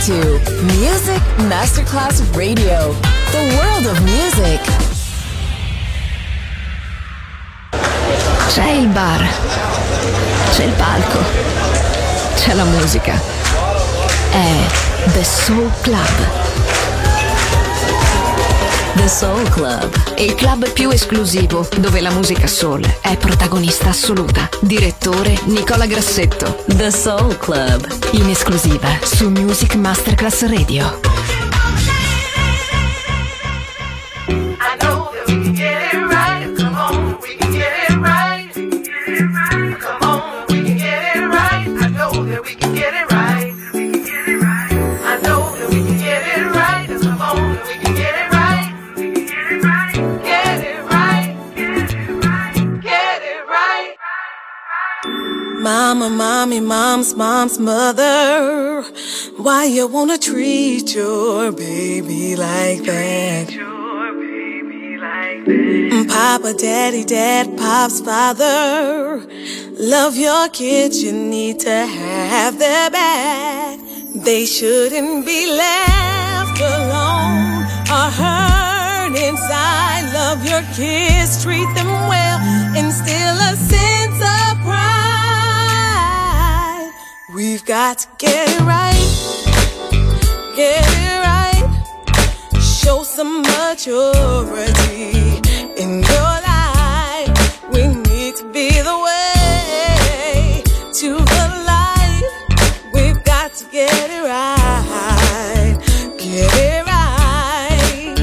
to Music Masterclass Radio, the world of music. C'è il bar, c'è il palco, c'è la musica. È The Soul Club. The Soul Club, il club più esclusivo dove la musica soul è protagonista assoluta. Direttore Nicola Grassetto. The Soul Club, in esclusiva su Music Masterclass Radio. Mama, mommy, mom's mother. Why you wanna treat your baby like that? Papa, daddy, dad, pop's father. Love your kids, you need to have their back. They shouldn't be left alone or hurt inside. Love your kids, treat them well, instill a sense of pride. We've got to get it right, get it right. Show some maturity in your life. We need to be the way to the light. We've got to get it right, get it right,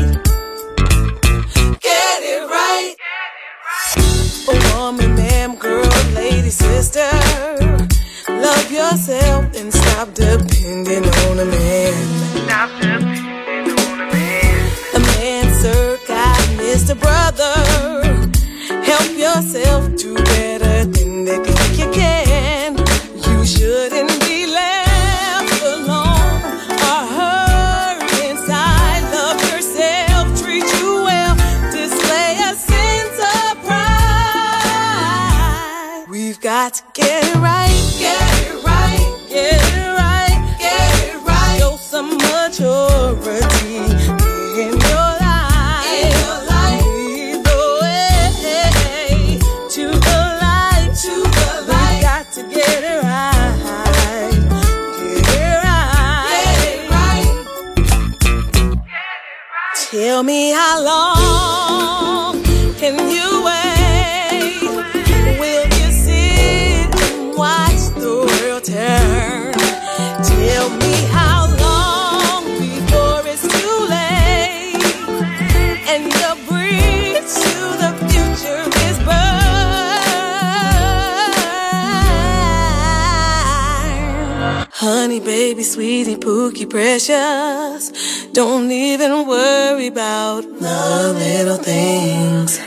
get it right. A woman, man, girl, lady, sister. Love yourself and stop depending on a man. Stop depending on a man. A man, sir, God, Mr. Brother. Help yourself do better than they think you can. You shouldn't be left alone or hurt inside. Love yourself, treat you well, display a sense of pride. We've got to get it right. Get it right, get it right, get it right. Show some maturity in your life. In your life. Lead the way to the light, to the light. We got to get it right, get it right, get it right. Tell me how long can you wait? Will you sit and watch the world turn? Tell me how long before it's too late and your bridge to the future is burned. Honey, baby, sweetie, pookie, precious. Don't even worry about the little things.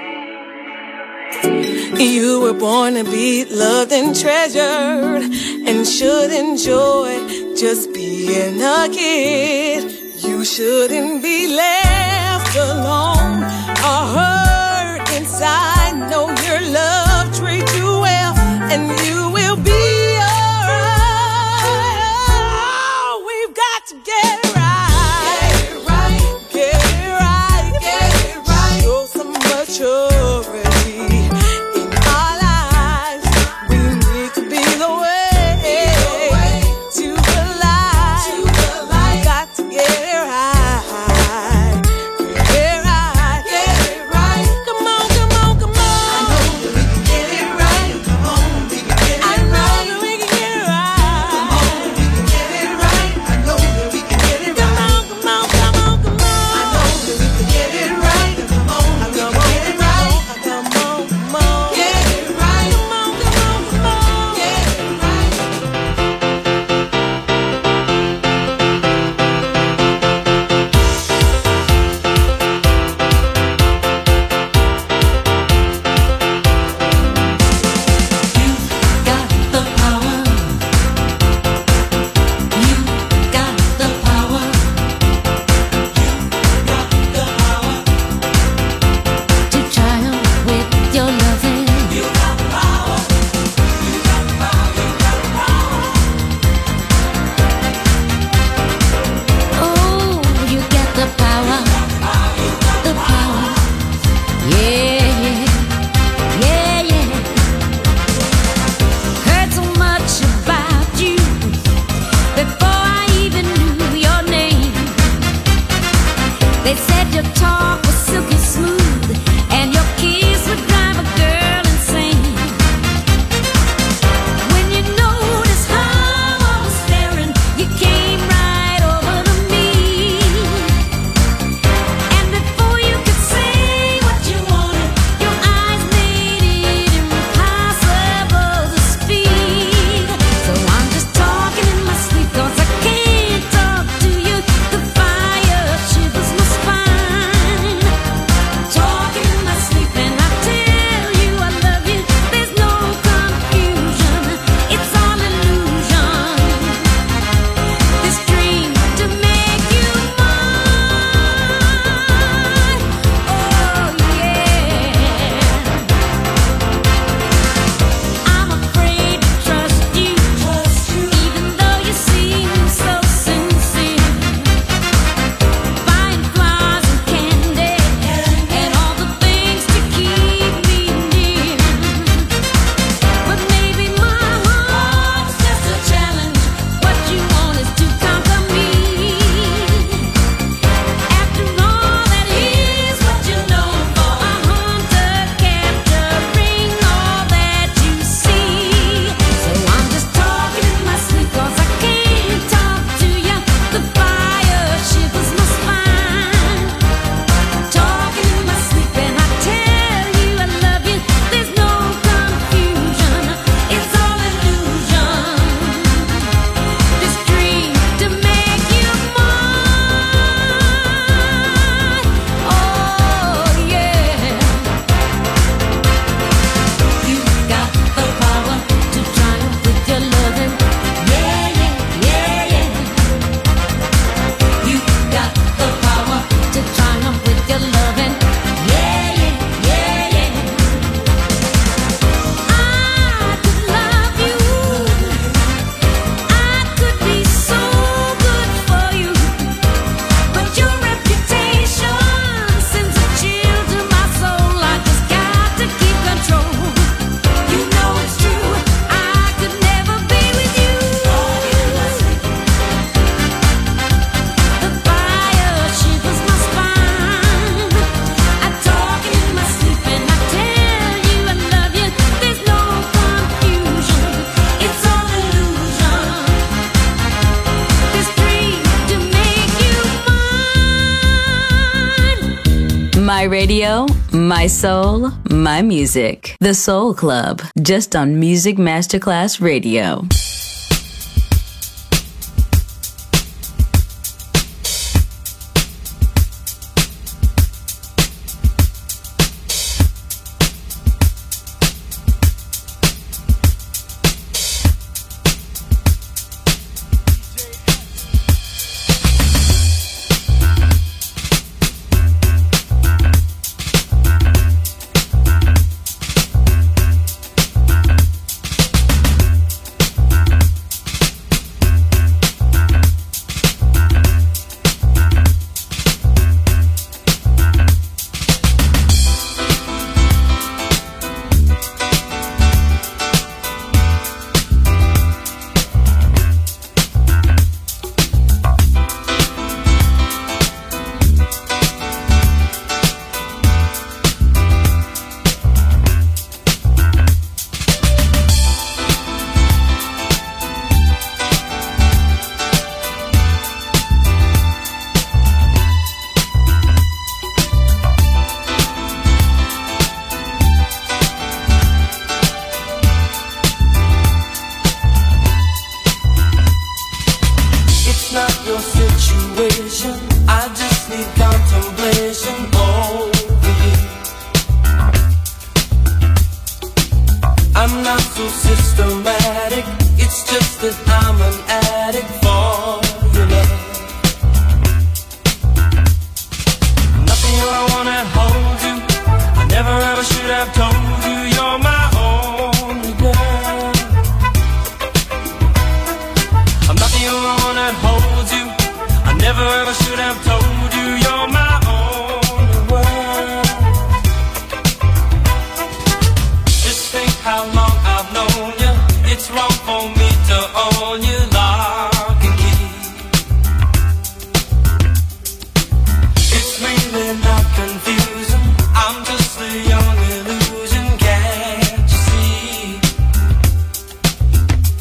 You were born to be loved and treasured and should enjoy just being a kid. You shouldn't be left alone or hurt inside. Know your love, treat you well, and you will be alright. Oh, we've got to get it right. Get it right, get it right, get it right. Show some maturity. Get it right. My radio, my soul, my music. The Soul Club, just on Music Masterclass Radio.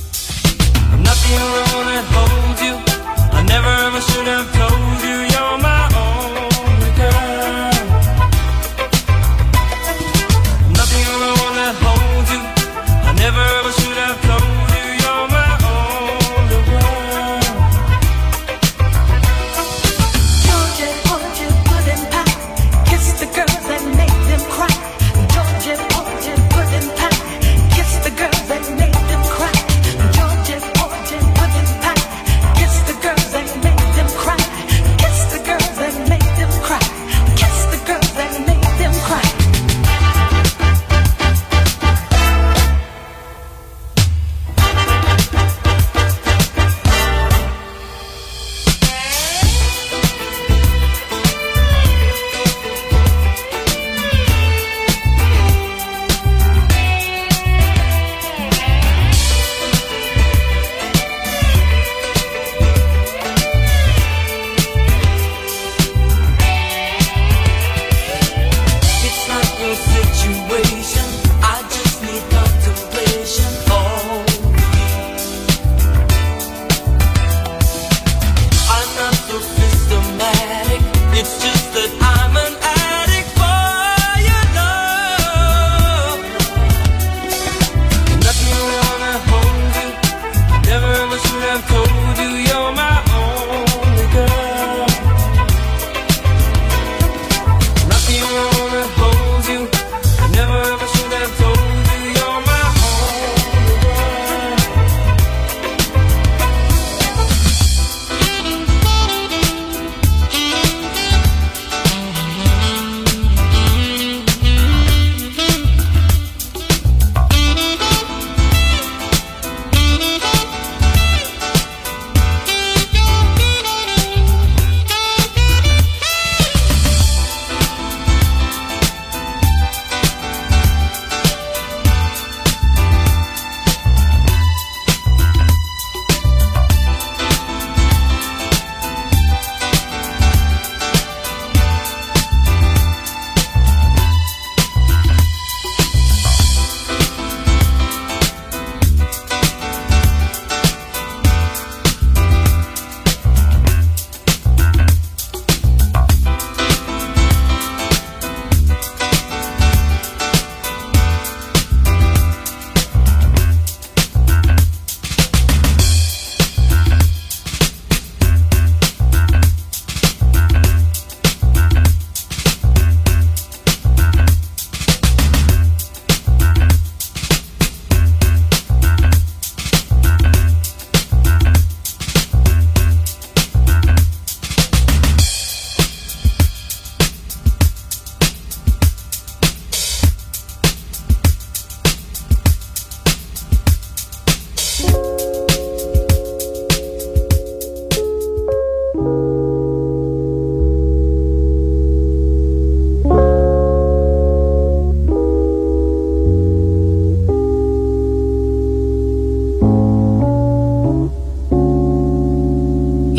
I never ever should have told you you're my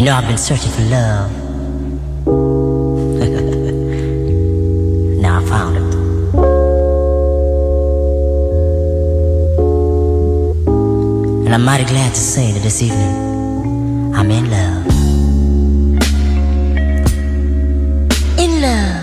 know I've been searching for love. Now I found it. And I'm mighty glad to say that this evening I'm in love. In love.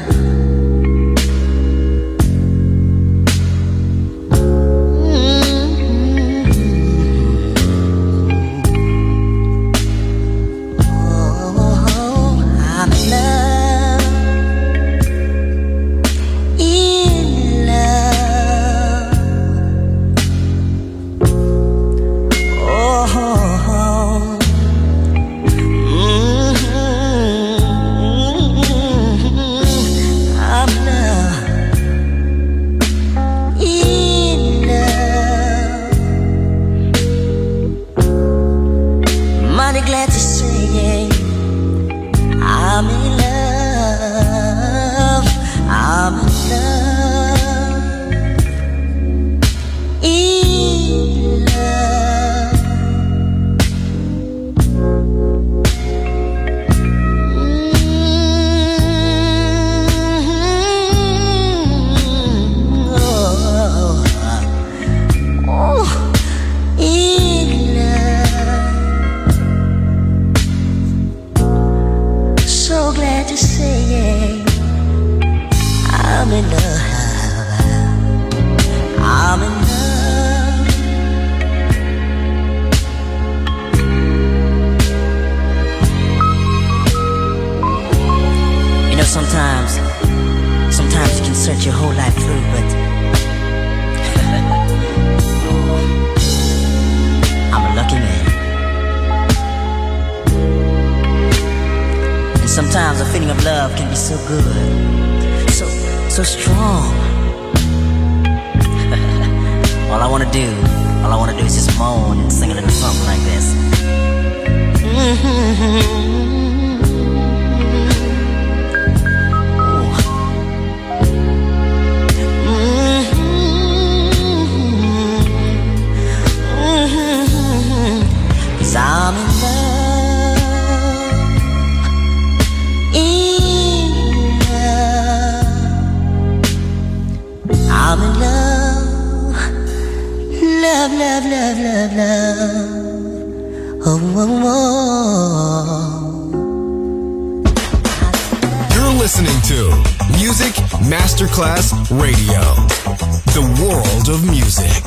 Sometimes you can search your whole life through, but I'm a lucky man. And sometimes a feeling of love can be so good, so strong. All I wanna do is just moan and sing a little something like this. I'm in love, I'm in love, love, love, love, love, love. Oh, oh, oh. You're listening to Music Masterclass Radio, the world of music.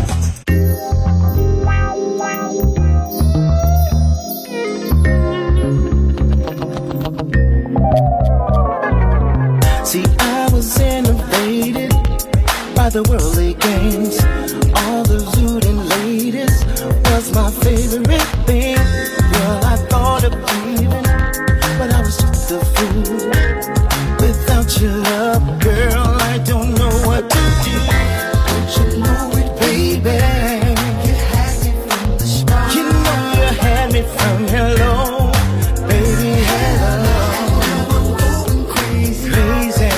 The worldly games, all the looting ladies was my favorite thing. Well, I thought of leaving, but I was just a fool. Without your love, girl, I don't know what to do. Don't you know it, baby? You had me from the start. You know you had me from hello, baby, hello. I'm going crazy, crazy.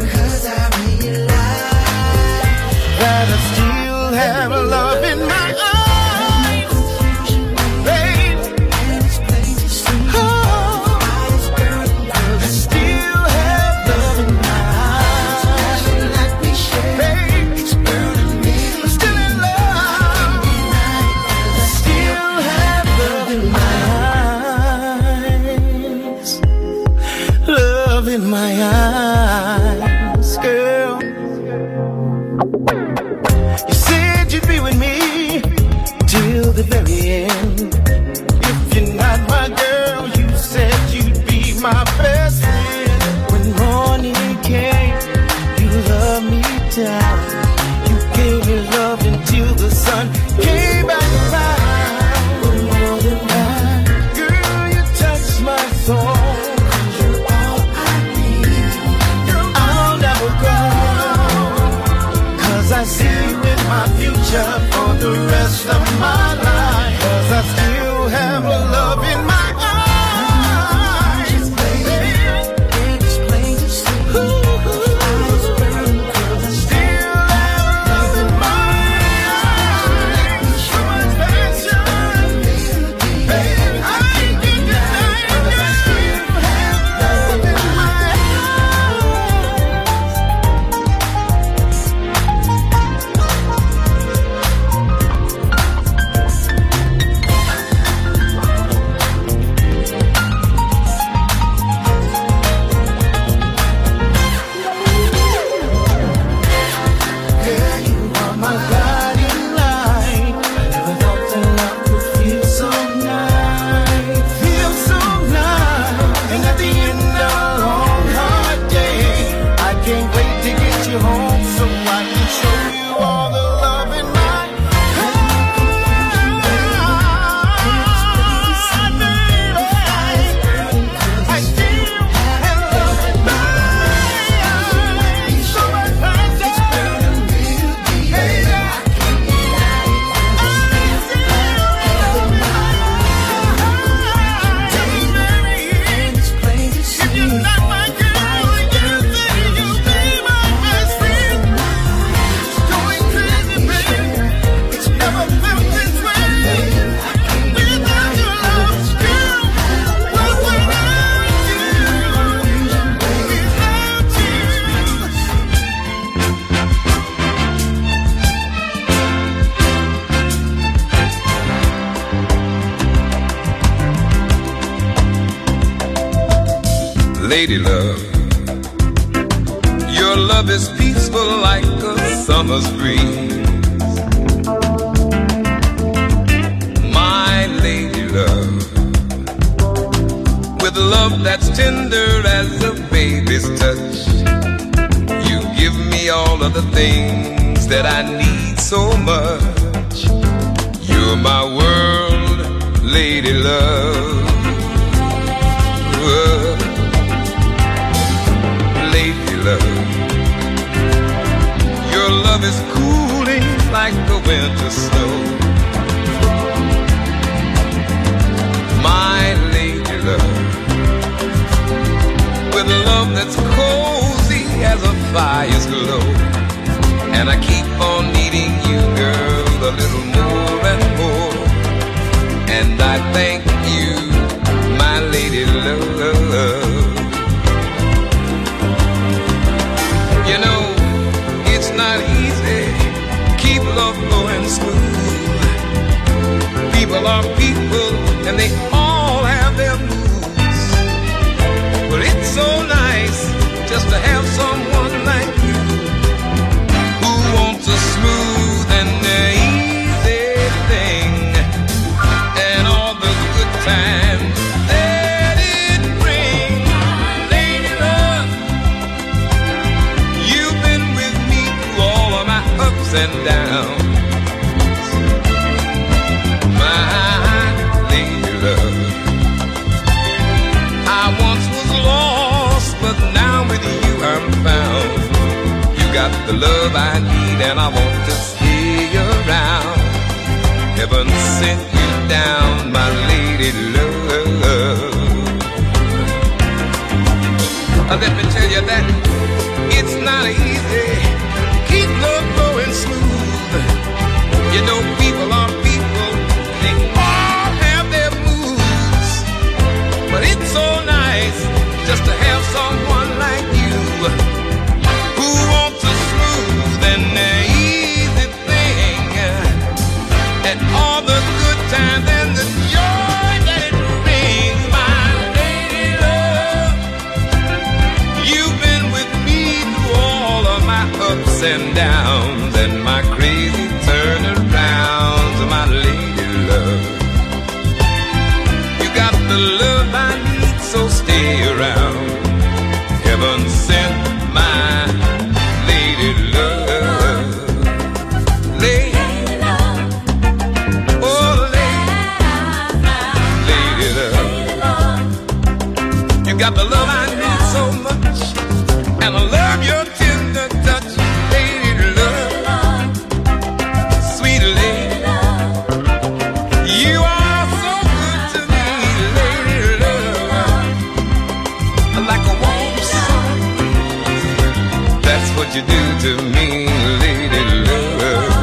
That I still have love in my eyes, babe. Oh, I still have love in my eyes, babe. I'm still in love. I still have love in my eyes, love in my eyes, girl. You'd be with me till the very end. If you're not my girl, you said you'd be my best friend. When morning came, you loved me down. You gave me love until the sun came back around. More than that, girl, you touched my soul. You're all I need. Girl, I'll never go, 'cause I see you in my future for the rest of my life. 'Cause I still have love in my eyes. lady love. Your love is peaceful like a summer's breeze. My lady love, with love that's tender as a baby's touch. You give me all of the things that I need so much. You're my world, lady love. Lady love, your love is cooling like the winter snow. My lady love, with love that's cozy as a fire's glow. And I keep on needing you, girl, a little more and more. And I thank you, my lady love. You know, it's not easy, keep love going smooth. People are people, and they all have their moods. But it's so nice just to have someone like you, who wants a smooth and easy thing, and all the good times that it brings. Lady love, you've been with me through all of my ups and downs. My lady love, I once was lost, but now with you I'm found. You got the love I need, and I want to stay around. Heaven sent you down, my lady love. Let me tell you that it's not easy, keep love going smooth. You know, people are people, they all have their moods. But it's so nice just to have someone like you, who wants a smooth and easy thing, and all the good times and the joy that it brings. My lady love, you've been with me through all of my ups and downs, and my crazy turnarounds. My lady love, you got the love I need, so stay around. Heaven sent my lady love. Lady love, oh lady love, you got the love I need so much, and I love your tender touch. Lady love, sweet lady love, you are so good to me. Lady love, like a warm sun, that's what you do to me. Lady love,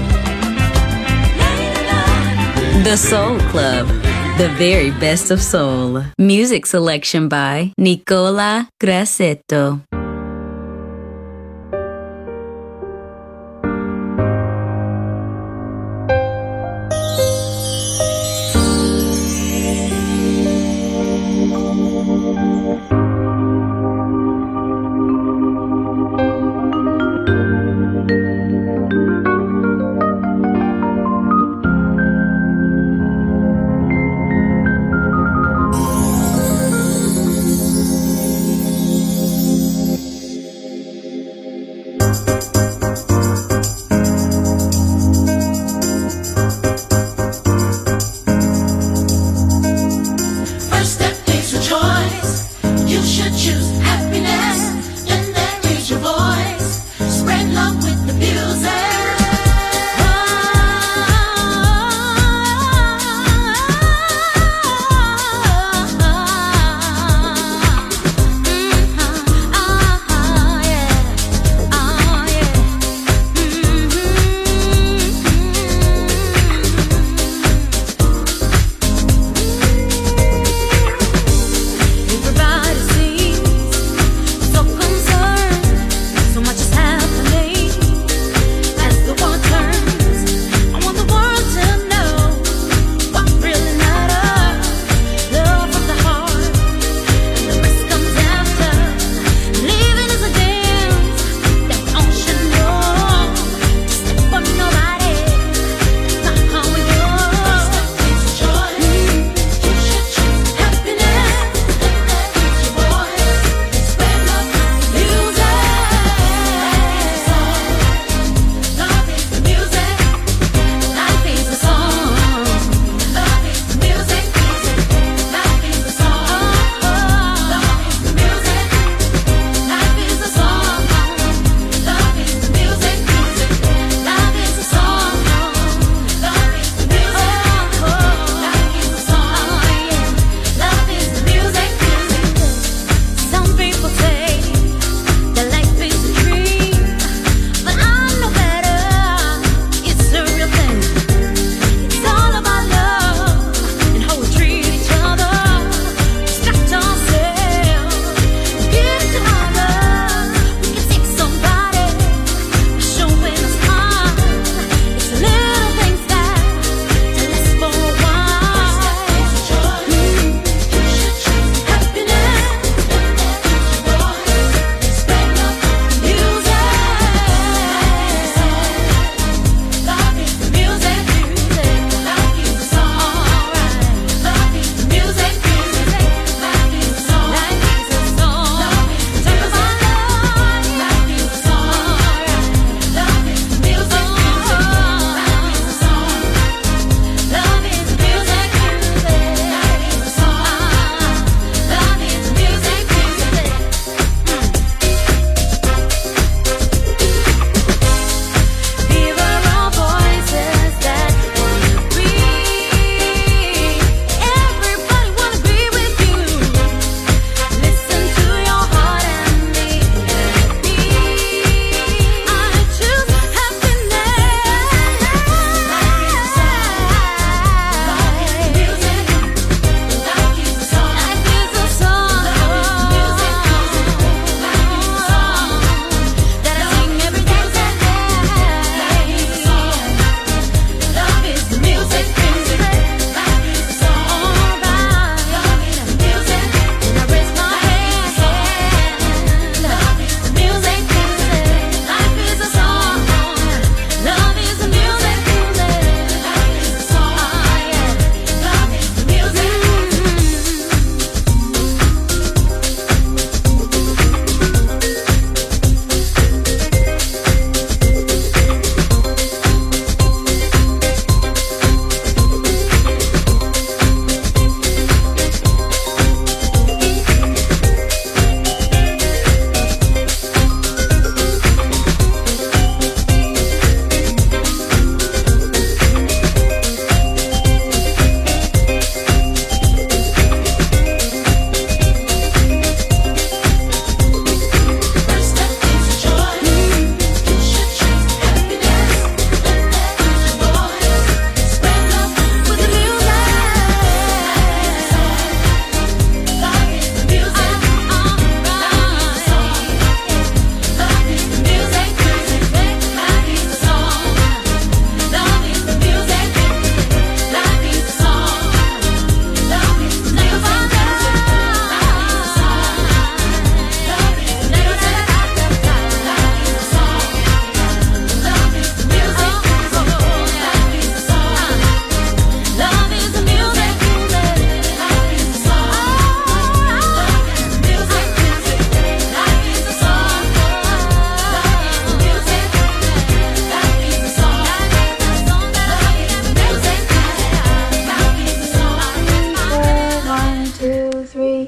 The Soul Club, the very best of soul. Music selection by Nicola Grassetto.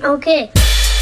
Okay.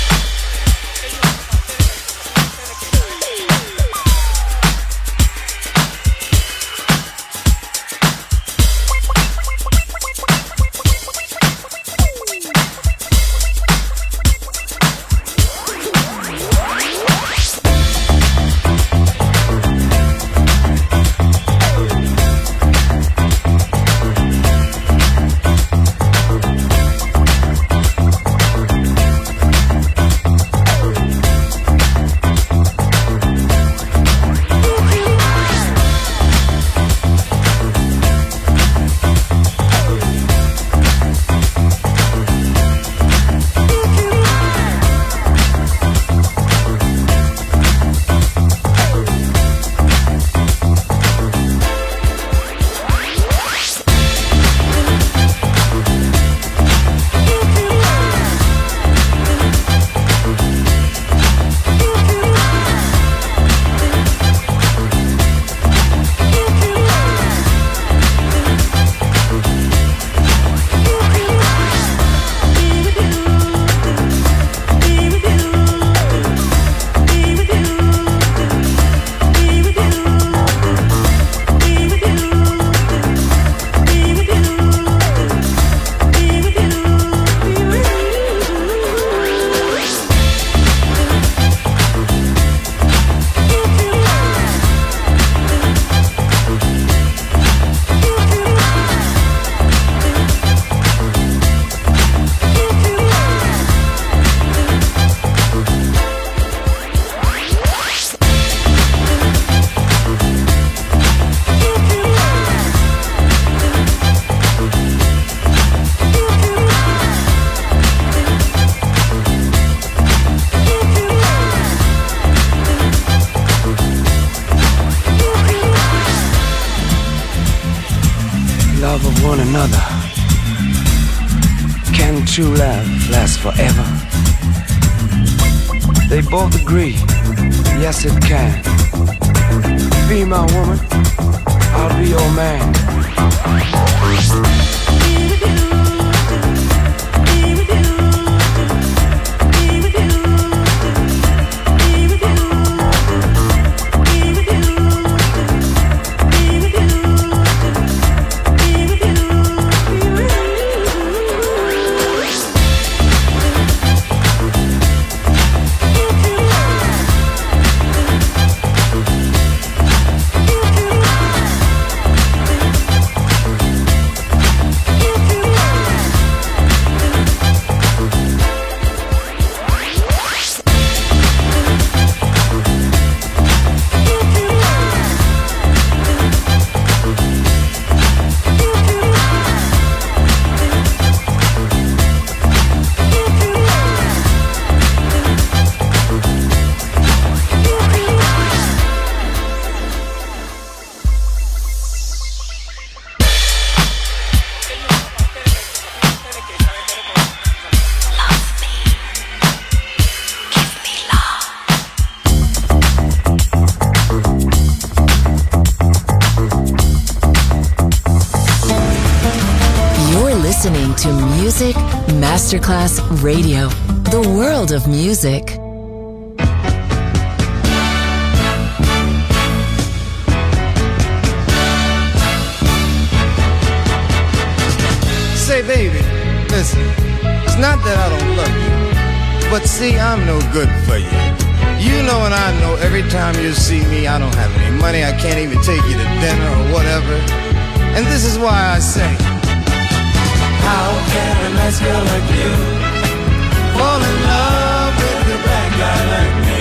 True love lasts forever. They both agree, yes it can. Be my woman, I'll be your man. To Music Masterclass Radio, the world of music. Say, baby, listen, it's not that I don't love you, but see, I'm no good for you. You know and I know every time you see me, I don't have any money, I can't even take you to dinner or whatever. And this is why I say, how can a nice girl like you fall in love with a bad guy like me?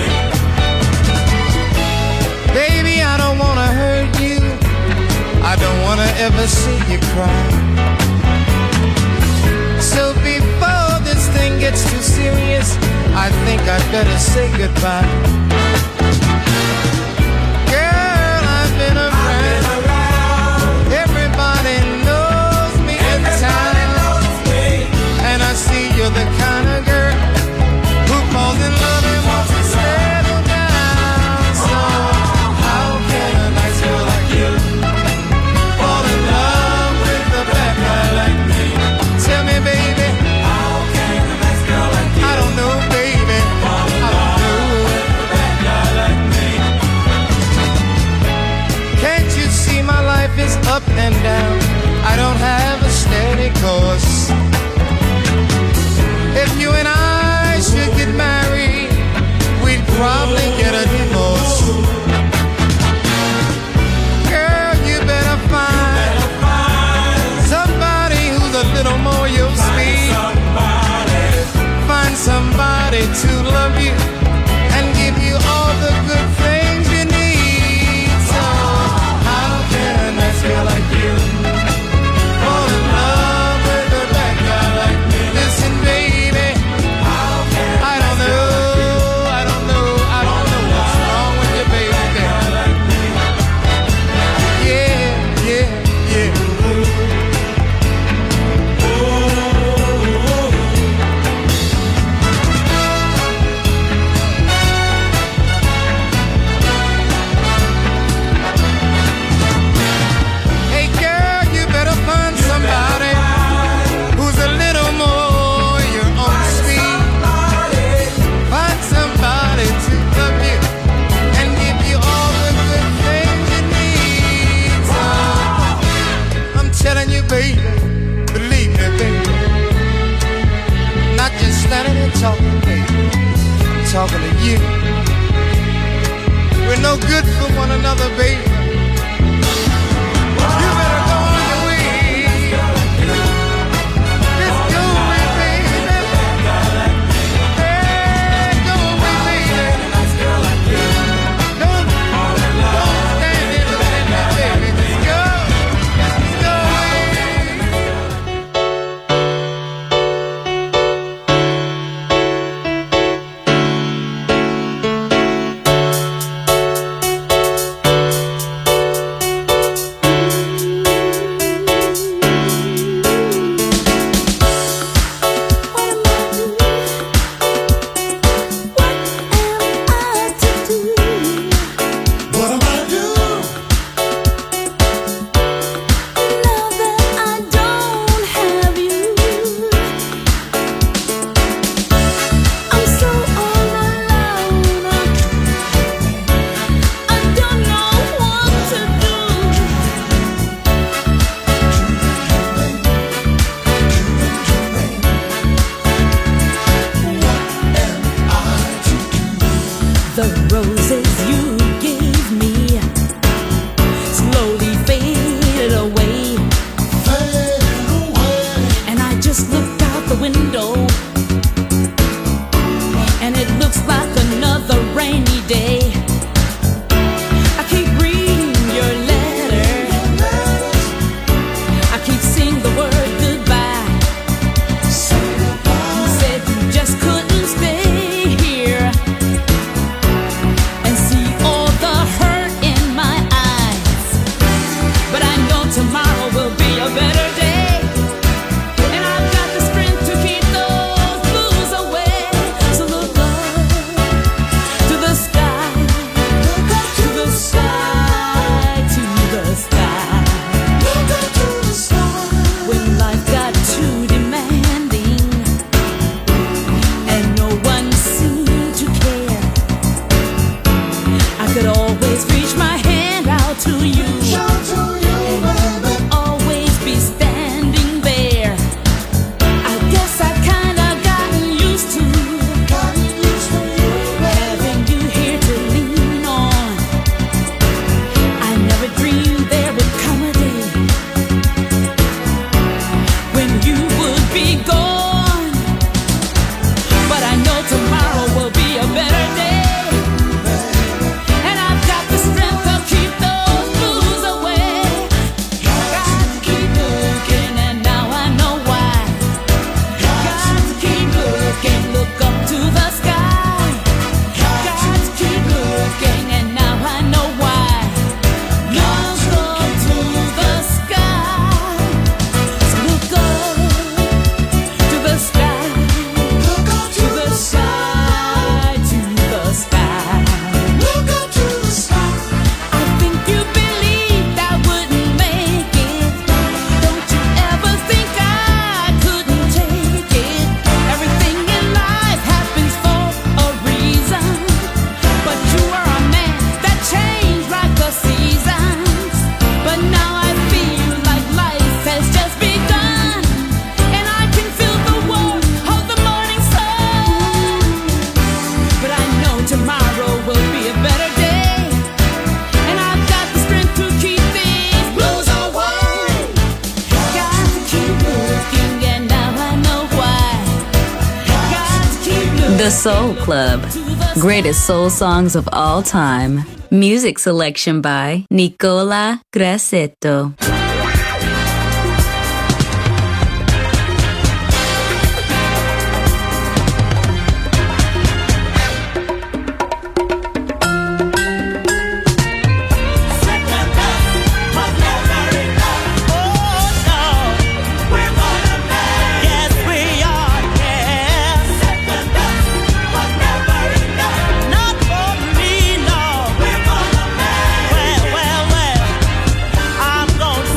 Baby, I don't wanna hurt you, I don't wanna ever see you cry. So before this thing gets too serious, I think I'd better say goodbye. Girl, I've been around. Everybody knows me in town. And I see you're the kind of girl who falls in love and wants to settle down. So how can a nice girl like you fall in love with a bad guy like me? Tell me, baby, how can a nice girl like you talking, baby. I'm talking to you. We're no good for one another, baby. You better go on your way. Just go away, baby. Hey, go away, baby. Don't stand here looking at me, baby. Just go. Just go away. The Soul Club. Greatest soul songs of all time. Music selection by Nicola Grassetto. I'm gonna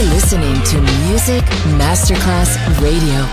You're listening to Music Masterclass Radio.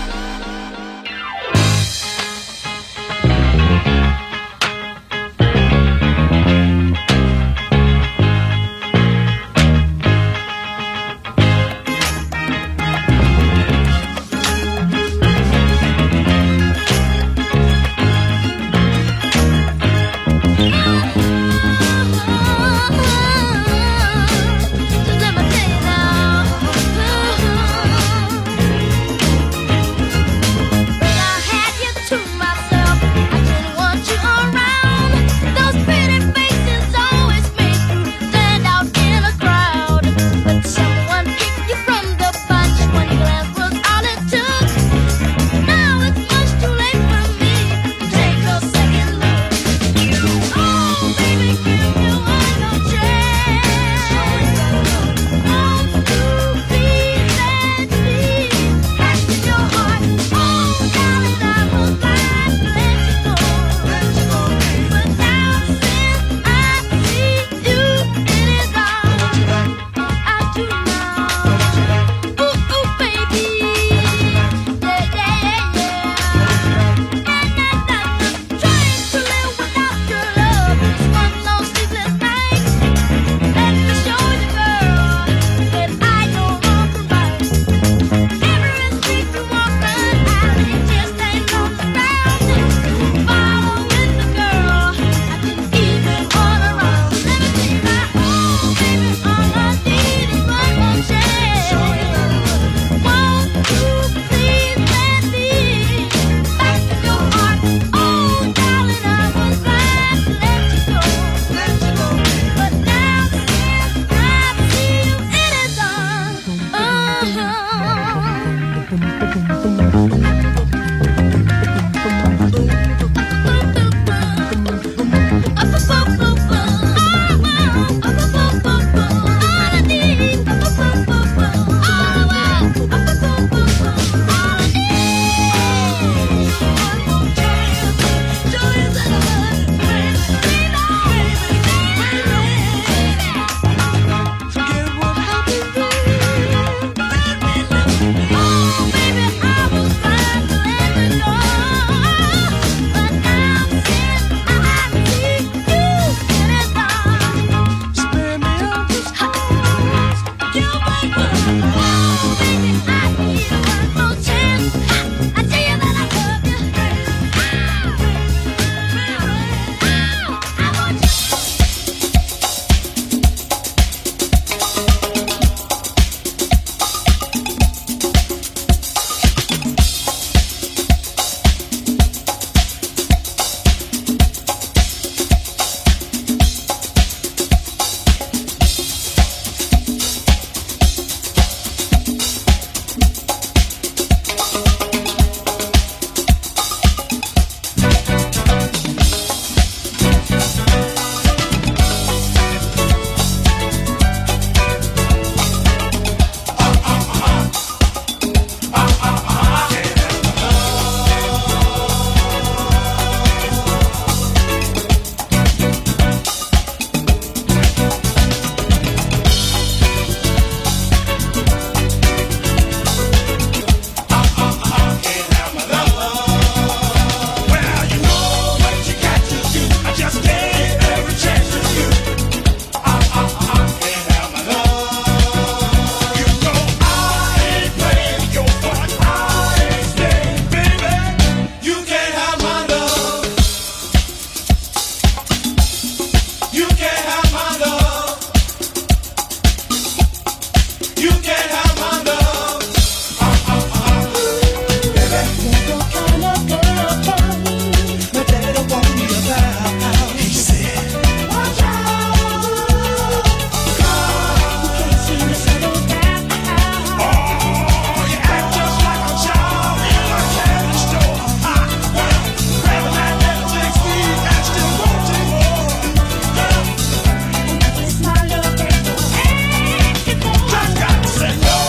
Say no.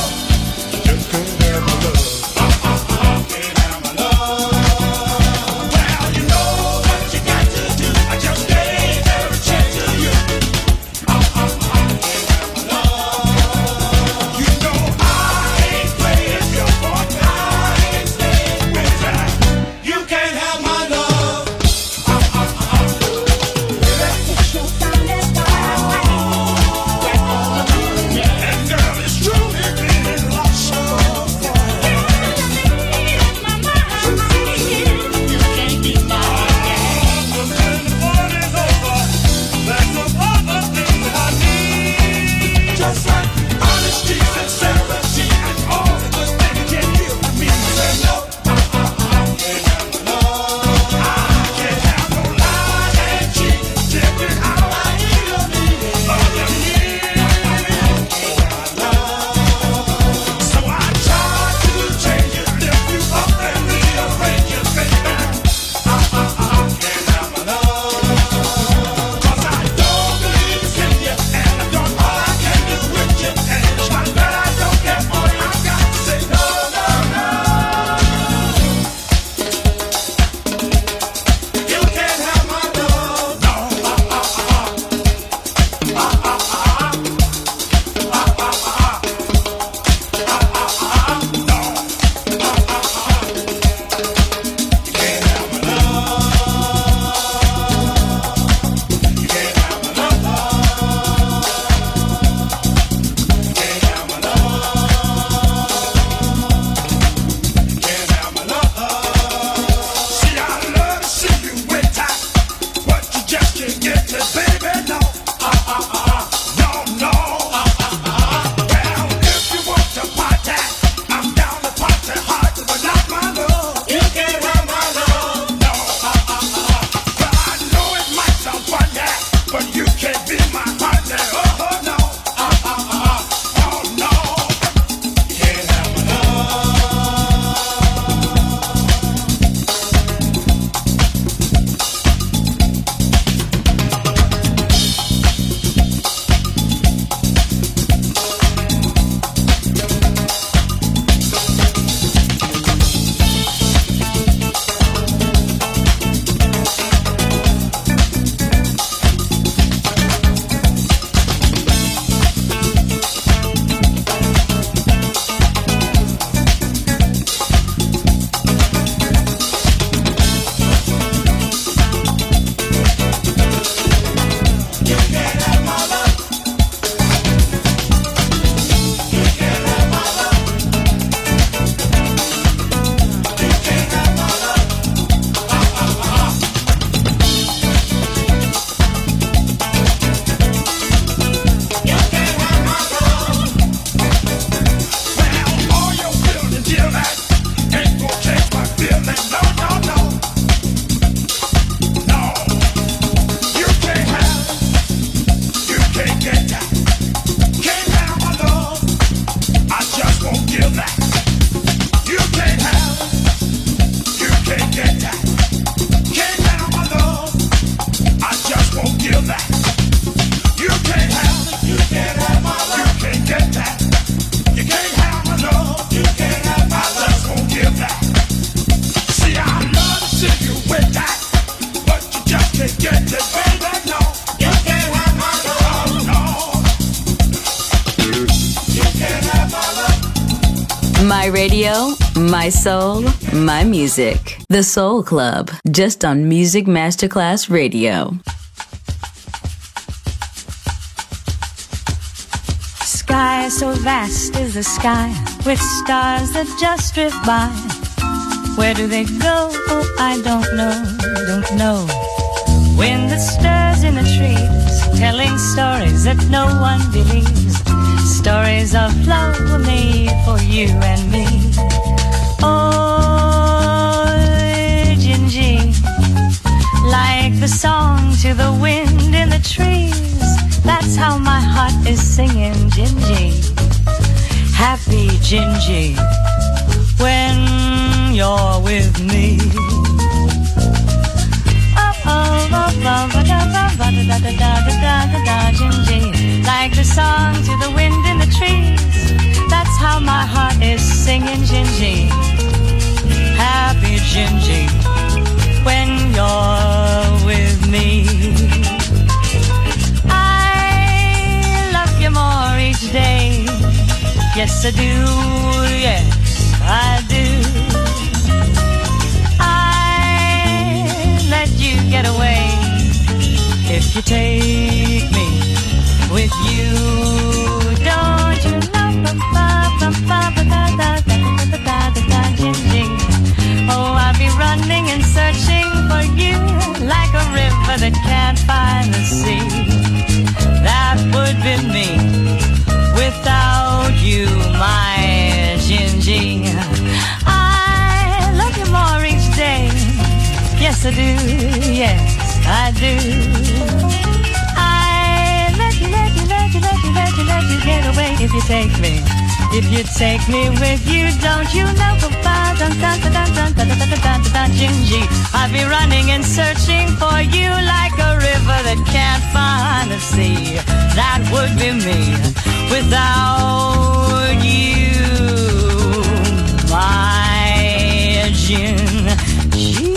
My radio, my soul, my music. The Soul Club, just on Music Masterclass Radio. Sky so vast is the sky, with stars that just drift by. Where do they go? Oh, I don't know. Wind that stirs in the trees, telling stories that no one believes. Stories of love were made for you and me. Oh, Gingy, like the song to the wind in the trees. That's how my heart is singing, Gingy. Happy Gingy, when you're with me. Gingy, like the song to the wind in the trees. That's how my heart is singing, Gingy. Happy Gingy, when you're with me. I love you more each day. Yes, I do, yes, I do. I let you get away if you take me with you. Don't you know? Oh, I'll be running and searching for you like a river that can't find the sea. That would be me without you, my Gingy. I love you more each day. Yes, I do. Yes, I do. I let you get away if you take me. If you take me with you, don't you know? Gingy, I'll be running and searching for you like a river that can't find the sea. That would be me without you, my Gingy.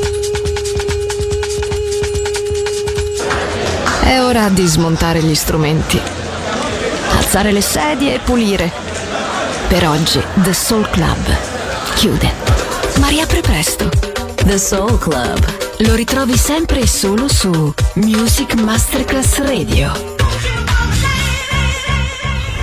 È ora di smontare gli strumenti, alzare le sedie e pulire. Per oggi The Soul Club chiude, ma riapre presto. The Soul Club lo ritrovi sempre e solo su Music Masterclass Radio.